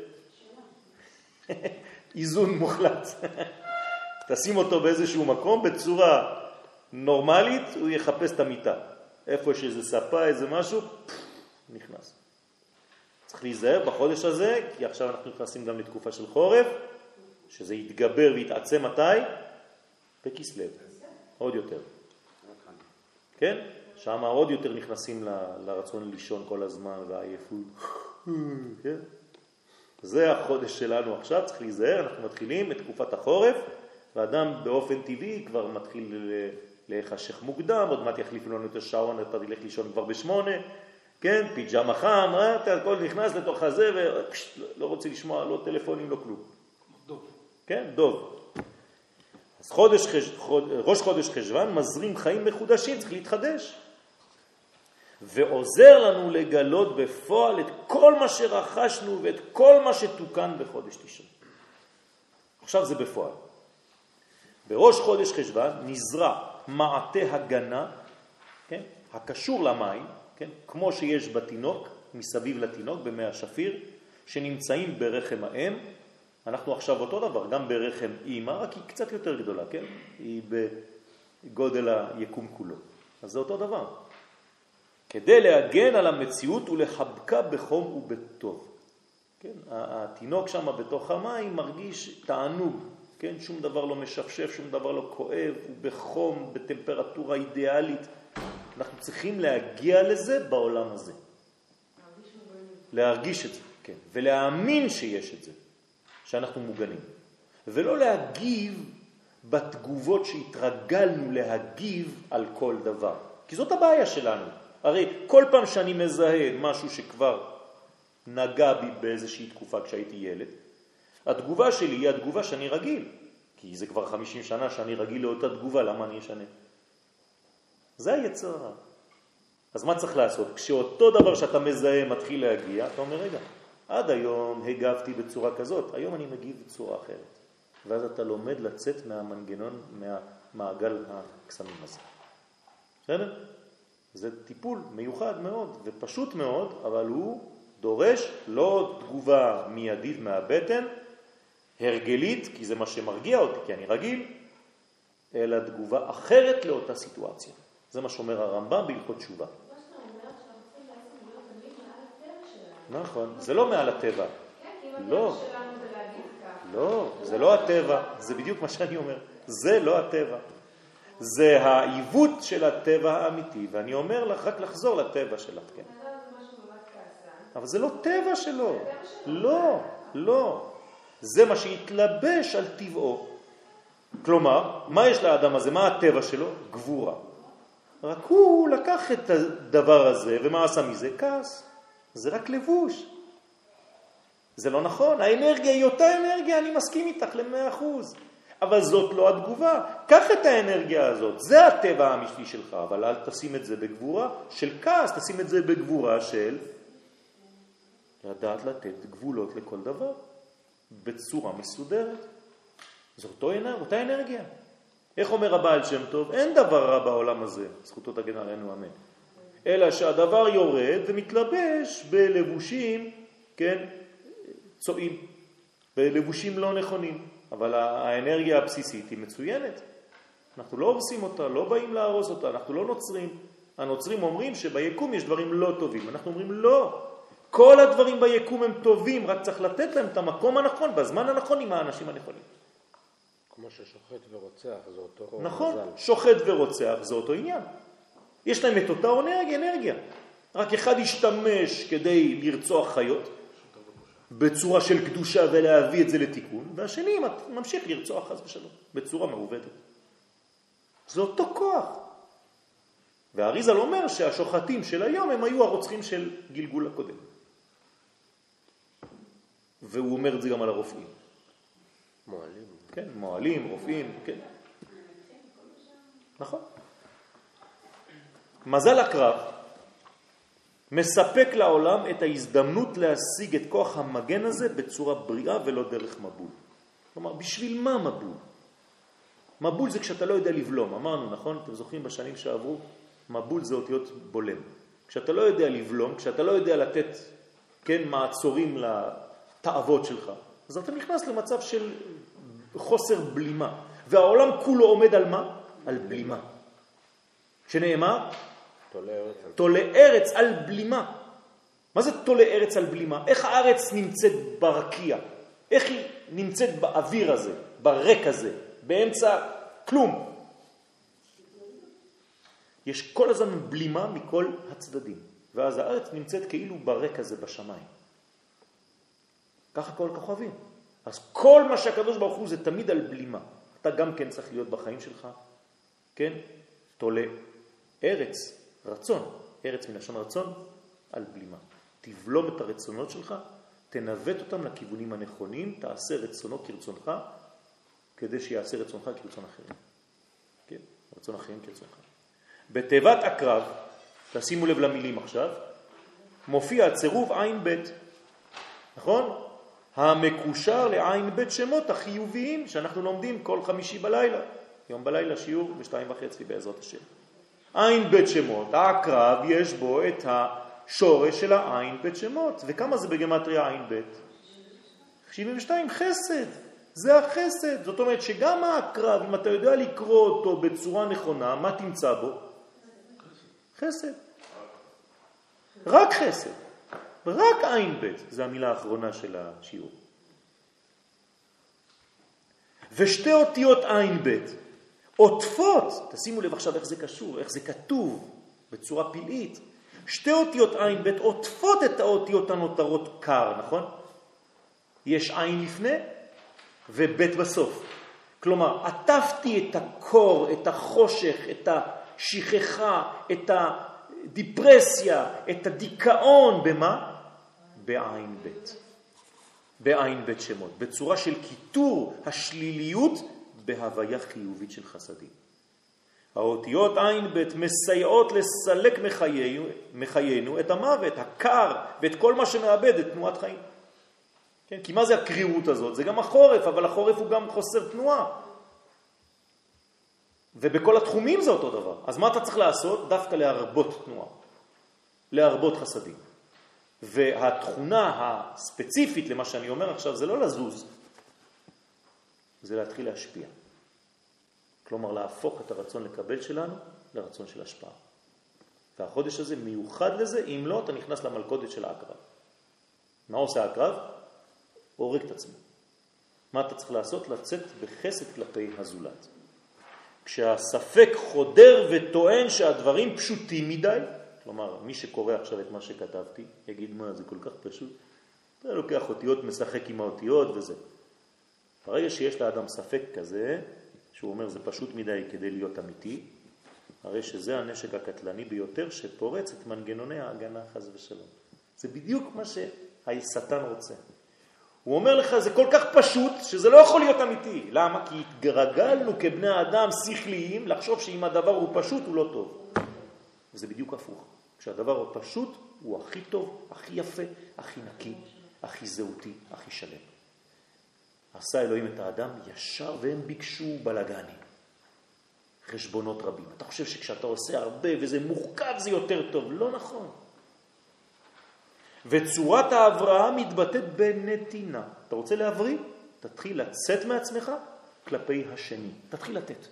איזון מוחלט. תשים אותו באיזשהו מקום, בצורה נורמלית, הוא יחפש את המיטה. איפה יש איזה ספה, איזה משהו, נכנס. צריך להיזהר בחודש הזה, כי עכשיו אנחנו נכנסים גם לתקופה של חורף, שזה יתגבר ויתעצם מתי? בכסלו. עוד יותר. כן? שם עוד יותר נכנסים ל- לרצון לישון כל הזמן והעייפות. כן? זה החודש שלנו עכשיו, צריך להיזהר, אנחנו מתחילים את תקופת החורף, ואדם באופן טבעי כבר מתחיל להיחשך מוקדם, עוד מעט יחליפו לנו את השעון, אתה תלך לישון כבר בשמונה, כן? פיג'מה חם, אתה הכל נכנס לתוך הזה, ולא רוצה לשמוע לא טלפונים, לא כלום. דוב. כן, דוב. אז חודש, חוד, ראש חודש חשוון מזרים חיים מחודשים, צריך להתחדש. ועוזר לנו לגלות בפועל את כל מה שרכשנו ואת כל מה שתוקן בחודש תשרי. עכשיו זה בפועל. בראש חודש חשוון נזרע מעטה הגנה, כן? הקשור למים, כן? כמו שיש בתינוק, מסביב לתינוק, במי השפיר, שנמצאים ברחם האם. אנחנו עכשיו אותו דבר, גם ברחם אימא, רק היא קצת יותר גדולה, כן? היא בגודל היקום כולו. אז זה אותו דבר. כדי להגן על המציאות ולחבקה בחום ובטוב. כן? התינוק שם בתוך המים מרגיש תענוג, כן? שום דבר לא משפשף, שום דבר לא כואב, הוא בחום, בטמפרטורה אידיאלית. אנחנו צריכים להגיע לזה בעולם הזה. להרגיש את זה, כן. ולהאמין שיש את זה, שאנחנו מוגנים. ולא להגיב בתגובות שהתרגלנו להגיב על כל דבר. כי זאת הבעיה שלנו. הרי כל פעם שאני מזהה משהו שכבר נגע בי באיזושהי תקופה כשהייתי ילד, התגובה שלי היא התגובה שאני רגיל. כי זה כבר חמישים שנה שאני רגיל לאותה תגובה, למה אני אשנה? זה היצר הרע. אז מה צריך לעשות? כשאותו דבר שאתה מזהה מתחיל להגיע, אתה אומר, רגע, עד היום הגבתי בצורה כזאת, היום אני מגיב בצורה אחרת. ואז אתה לומד לצאת מהמנגנון, מהמעגל הקסמים הזה. בסדר? זה טיפול מיוחד מאוד ופשוט מאוד, אבל הוא דורש לא תגובה מיידית מהבטן, הרגלית, כי זה מה שמרגיע אותי, כי אני רגיל, אלא תגובה אחרת לאותה סיטואציה. זה מה שאומר הרמב"ם בהלכות תשובה. נכון, זה לא מעל הטבע. לא, לא, זה לא הטבע, זה בדיוק מה שאני אומר. זה לא הטבע. זה העיוות של הטבע האמיתי, ואני אומר לך רק לחזור לטבע שלך, כן. אבל זה לא טבע שלו. לא, לא. זה מה שהתלבש על טבעו. כלומר, מה יש לאדם הזה? מה הטבע שלו? גבורה. רק הוא לקח את הדבר הזה, ומה עשה מזה? כעס. זה רק לבוש. זה לא נכון. האנרגיה היא אותה אנרגיה, אני מסכים איתך ל-מאה אחוז. אבל זאת לא התגובה. קח את האנרגיה הזאת. זה הטבע האמיתי שלך, אבל אל תשים את זה בגבורה של כעס, תשים את זה בגבורה של לדעת לתת גבולות לכל דבר. בצורה מסודרת. זו אותו אנרגיה, אותה אנרגיה. איך אומר הבעל שם טוב? אין דבר רע בעולם הזה, זכותו תגן עלינו אמן. אלא שהדבר יורד ומתלבש בלבושים, כן, צועים, בלבושים לא נכונים. אבל האנרגיה הבסיסית היא מצוינת. אנחנו לא הורסים אותה, לא באים להרוס אותה, אנחנו לא נוצרים. הנוצרים אומרים שביקום יש דברים לא טובים. אנחנו אומרים לא. כל הדברים ביקום הם טובים, רק צריך לתת להם את המקום הנכון, בזמן הנכון עם האנשים הנכונים. כמו ששוחט ורוצח, זה אותו נכון, מזל. שוחט ורוצח, זה אותו עניין. יש להם את אותה אנרגיה, אנרגיה. רק אחד ישתמש כדי לרצוח חיות, בצורה של קדושה ולהביא את זה לתיקון, והשני ממשיך לרצוח חס ושלום, בצורה מעובדת. זה אותו כוח. והאריז"ל אומר שהשוחטים של היום הם היו הרוצחים של גלגול הקודם. והוא אומר את זה גם על הרופאים. מועלים. כן, מועלים, רופאים, כן. נכון. מזל הקרב מספק לעולם את ההזדמנות להשיג את כוח המגן הזה בצורה בריאה ולא דרך מבול. כלומר, בשביל מה מבול? מבול זה כשאתה לא יודע לבלום. אמרנו, נכון? אתם זוכרים בשנים שעברו? מבול זה אותיות בולם. כשאתה לא יודע לבלום, כשאתה לא יודע לתת, כן, מעצורים לתאוות שלך, אז אתה נכנס למצב של חוסר בלימה. והעולם כולו עומד על מה? על בלימה. שנאמר? תולה ארץ על בלימה. מה זה תולה ארץ על בלימה? איך הארץ נמצאת ברקיע? איך היא נמצאת באוויר הזה, ברק הזה, באמצע כלום? יש כל הזמן בלימה מכל הצדדים. ואז הארץ נמצאת כאילו ברק הזה בשמיים. ככה כל כוכבים. אז כל מה שהקדוש ברוך הוא זה תמיד על בלימה. אתה גם כן צריך להיות בחיים שלך, כן? תולה ארץ, רצון, ארץ מלשון רצון, על בלימה. תבלום את הרצונות שלך, תנווט אותם לכיוונים הנכונים, תעשה רצונו כרצונך, כדי שיעשה רצונך כרצון אחרים. כן? רצון אחרים כרצונך. בתיבת הקרב, תשימו לב למילים עכשיו, מופיע הצירוף עין בית. נכון? המקושר לעין בית שמות החיוביים שאנחנו לומדים כל חמישי בלילה. יום בלילה שיעור בשתיים וחצי בעזרת השם. עין בית שמות, הקרב יש בו את השורש של העין בית שמות. וכמה זה בגמטריה עין בית? שבעים ושתיים, חסד. זה החסד. זאת אומרת שגם הקרב, אם אתה יודע לקרוא אותו בצורה נכונה, מה תמצא בו? חסד. רק חסד. רק עין בית. זה המילה האחרונה של השיעור. ושתי אותיות עין בית עוטפות, תשימו לב עכשיו איך זה קשור, איך זה כתוב בצורה פלאית. שתי אותיות עין בית עוטפות את האותיות הנותרות קר, נכון? יש עין לפני ובית בסוף. כלומר, עטפתי את הקור, את החושך, את השכחה, את הדיפרסיה, את הדיכאון, במה? בעין בית. בעין בית שמות. בצורה של כיתור השליליות בהוויה חיובית של חסדים. האותיות עין בית מסייעות לסלק מחיינו, מחיינו את המוות, הקר ואת כל מה שמאבד את תנועת חיים. כן? כי מה זה הקרירות הזאת? זה גם החורף, אבל החורף הוא גם חוסר תנועה. ובכל התחומים זה אותו דבר. אז מה אתה צריך לעשות? דווקא להרבות תנועה, להרבות חסדים. והתכונה הספציפית למה שאני אומר עכשיו זה לא לזוז, זה להתחיל להשפיע. כלומר להפוך את הרצון לקבל שלנו לרצון של השפעה. והחודש הזה מיוחד לזה, אם לא אתה נכנס למלכודת של העקרב. מה עושה העקרב? הורג את עצמו. מה אתה צריך לעשות? לצאת בחסד כלפי הזולת. כשהספק חודר וטוען שהדברים פשוטים מדי, כלומר מי שקורא עכשיו את מה שכתבתי יגיד מה זה כל כך פשוט, אתה לוקח אותיות, משחק עם האותיות וזה. ברגע שיש לאדם ספק כזה, שהוא אומר זה פשוט מדי כדי להיות אמיתי, הרי שזה הנשק הקטלני ביותר שפורץ את מנגנוני ההגנה חס ושלום. זה בדיוק מה שהשטן רוצה. הוא אומר לך זה כל כך פשוט שזה לא יכול להיות אמיתי. למה? כי התגרגלנו כבני האדם שכליים לחשוב שאם הדבר הוא פשוט הוא לא טוב. וזה בדיוק הפוך. כשהדבר הוא פשוט הוא הכי טוב, הכי יפה, הכי נקי, הכי זהותי, הכי שלם. עשה אלוהים את האדם ישר והם ביקשו בלגנים. חשבונות רבים. אתה חושב שכשאתה עושה הרבה וזה מורכב זה יותר טוב. לא נכון. וצורת ההבראה מתבטאת בנתינה. אתה רוצה להבריא? תתחיל לצאת מעצמך כלפי השני. תתחיל לתת.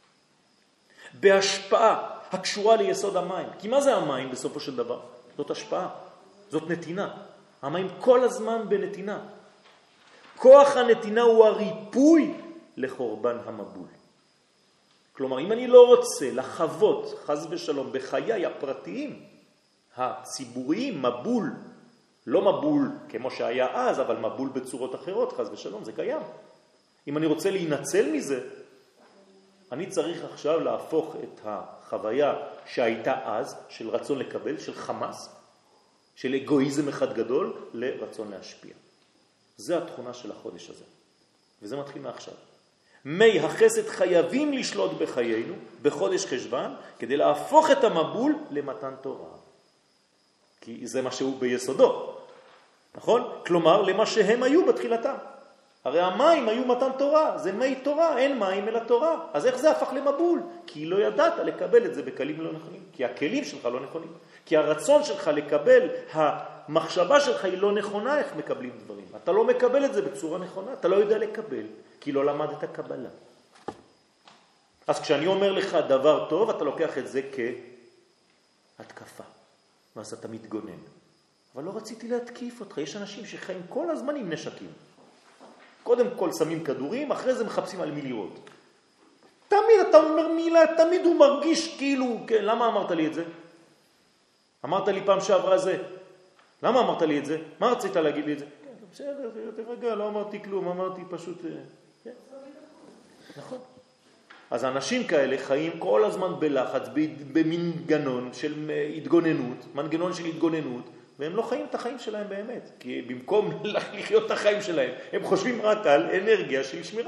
בהשפעה הקשורה ליסוד המים. כי מה זה המים בסופו של דבר? זאת השפעה. זאת נתינה. המים כל הזמן בנתינה. כוח הנתינה הוא הריפוי לחורבן המבול. כלומר, אם אני לא רוצה לחוות חס ושלום בחיי הפרטיים, הציבוריים, מבול, לא מבול כמו שהיה אז, אבל מבול בצורות אחרות, חס ושלום, זה קיים. אם אני רוצה להינצל מזה, אני צריך עכשיו להפוך את החוויה שהייתה אז, של רצון לקבל, של חמאס, של אגואיזם אחד גדול, לרצון להשפיע. זה התכונה של החודש הזה. וזה מתחיל מעכשיו. מי החסד חייבים לשלוט בחיינו, בחודש חשבן, כדי להפוך את המבול למתן תורה. כי זה מה שהוא ביסודו. נכון? כלומר, למה שהם היו בתחילתם. הרי המים היו מתן תורה, זה מי תורה, אין מים אלא תורה. אז איך זה הפך למבול? כי לא ידעת לקבל את זה בכלים לא נכונים. כי הכלים שלך לא נכונים. כי הרצון שלך לקבל, המחשבה שלך היא לא נכונה איך מקבלים דברים. אתה לא מקבל את זה בצורה נכונה, אתה לא יודע לקבל, כי לא למדת קבלה. אז כשאני אומר לך דבר טוב, אתה לוקח את זה כהתקפה. ואז אתה מתגונן. אבל לא רציתי להתקיף אותך. יש אנשים שחיים כל הזמן עם נשקים. קודם כל שמים כדורים, אחרי זה מחפשים על מי לירות. תמיד אתה אומר מילה, תמיד הוא מרגיש כאילו, כן, למה אמרת לי את זה? אמרת לי פעם שעברה זה. למה אמרת לי את זה? מה רצית להגיד לי את זה? בסדר, תרגע, לא אמרתי כלום, אמרתי פשוט... כן. נכון. אז אנשים כאלה חיים כל הזמן בלחץ, במנגנון של התגוננות, מנגנון של התגוננות, והם לא חיים את החיים שלהם באמת. כי במקום לחיות את החיים שלהם, הם חושבים רק על אנרגיה של שמירה.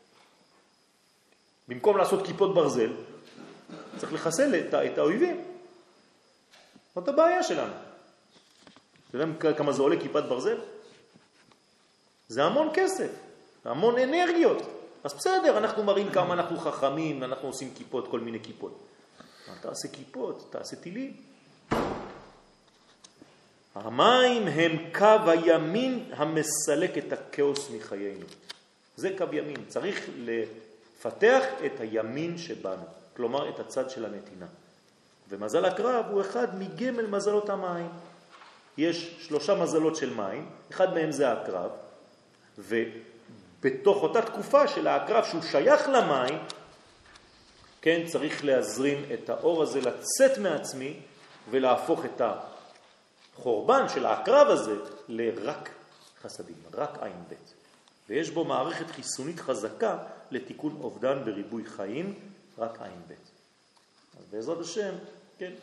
במקום לעשות כיפות ברזל, צריך לחסל את, את האויבים. זאת הבעיה שלנו. אתה יודע כמה זה עולה כיפת ברזל? זה המון כסף, המון אנרגיות. אז בסדר, אנחנו מראים כמה אנחנו חכמים, אנחנו עושים כיפות, כל מיני כיפות. תעשה כיפות, תעשה טילים. המים הם קו הימין המסלק את הכאוס מחיינו. זה קו ימין. צריך לפתח את הימין שבנו, כלומר את הצד של הנתינה. ומזל הקרב הוא אחד מגמל מזלות המים. יש שלושה מזלות של מים, אחד מהם זה הקרב, ובתוך אותה תקופה של הקרב שהוא שייך למים, כן, צריך להזרים את האור הזה, לצאת מעצמי ולהפוך את החורבן של הקרב הזה לרק חסדים, רק עין בית. ויש בו מערכת חיסונית חזקה לתיקון אובדן וריבוי חיים, רק עין בית. אז בעזרת השם, כן,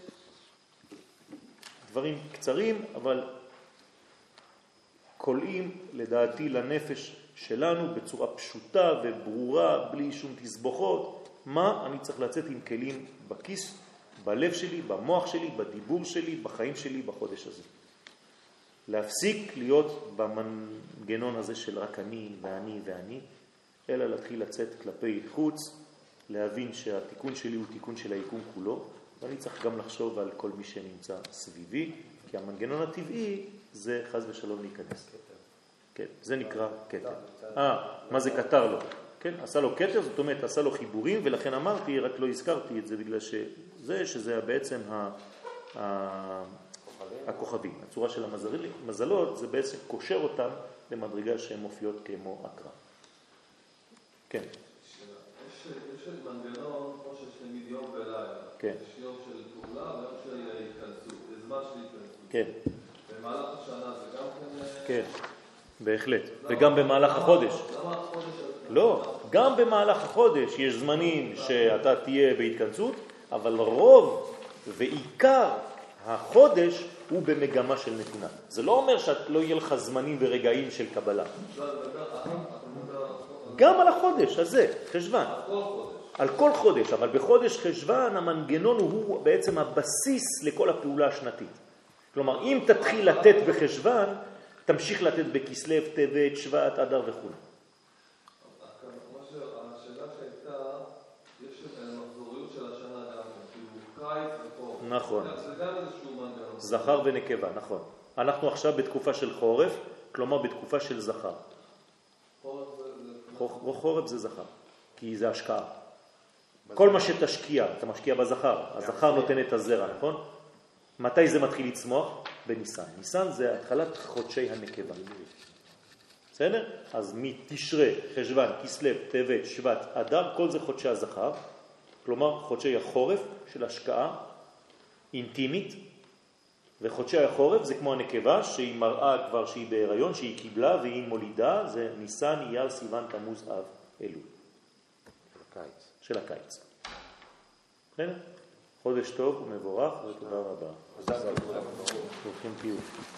דברים קצרים, אבל קולעים לדעתי לנפש שלנו בצורה פשוטה וברורה, בלי שום תסבוכות, מה אני צריך לצאת עם כלים בכיס, בלב שלי, במוח שלי, בדיבור שלי, בחיים שלי בחודש הזה. להפסיק להיות במנגנון הזה של רק אני ואני ואני, אלא להתחיל לצאת כלפי חוץ, להבין שהתיקון שלי הוא תיקון של היקום כולו, ואני צריך גם לחשוב על כל מי שנמצא סביבי, כי המנגנון הטבעי זה חס ושלום להיכנס. כן, זה נקרא קטר. אה, מה זה קטר לו? כן, עשה לו קטר, זאת אומרת, עשה לו חיבורים, ולכן אמרתי, רק לא הזכרתי את זה, בגלל שזה, שזה בעצם ה... ה... הכוכבים. הצורה של המזלות זה בעצם קושר אותם למדרגה שהן מופיעות כמו אקרא. כן. יש מנגנון כמו שיש תמיד יום ולילה. כן. יש יום של פעולה ויום של התכנסות. זה זמן של התכנסות. כן. במהלך השנה זה גם כן... כן, בהחלט. וגם במהלך החודש. למה החודש? לא, גם במהלך החודש יש זמנים שאתה תהיה בהתכנסות, אבל רוב ועיקר החודש הוא במגמה של נתינה. זה לא אומר שלא יהיה לך זמנים ורגעים של קבלה. גם על החודש הזה, חשבן. על כל חודש, אבל בחודש חשבן המנגנון הוא בעצם הבסיס לכל הפעולה השנתית. כלומר, אם תתחיל לתת בחשבן, תמשיך לתת בכסלו, טבת, שבט, אדר וכו'. השאלה שהייתה, יש מחזוריות של השנה גם, כאילו קיץ וחורף. נכון. זה גם איזשהו מנגנון. זכר ונקבה, נכון. אנחנו עכשיו בתקופה של חורף, כלומר בתקופה של זכר. חורף זה... חורף זה זכר, כי זה השקעה. כל מה שתשקיע, אתה משקיע בזכר. הזכר נותן את הזרע, נכון? מתי זה מתחיל לצמוח? בניסן. ניסן זה התחלת חודשי הנקבה. בסדר? אז מתשרה, חשבן, כסלו, טבת, שבט, אדר, כל זה חודשי הזכר. כלומר, חודשי החורף של השקעה אינטימית, וחודשי החורף זה כמו הנקבה שהיא מראה כבר שהיא בהיריון, שהיא קיבלה והיא מולידה, זה ניסן, אייר, סיוון, תמוז, אב, אלול. הקיץ. של הקיץ. בסדר? חודש טוב ומבורך ותודה רבה. ברוכים תהיו.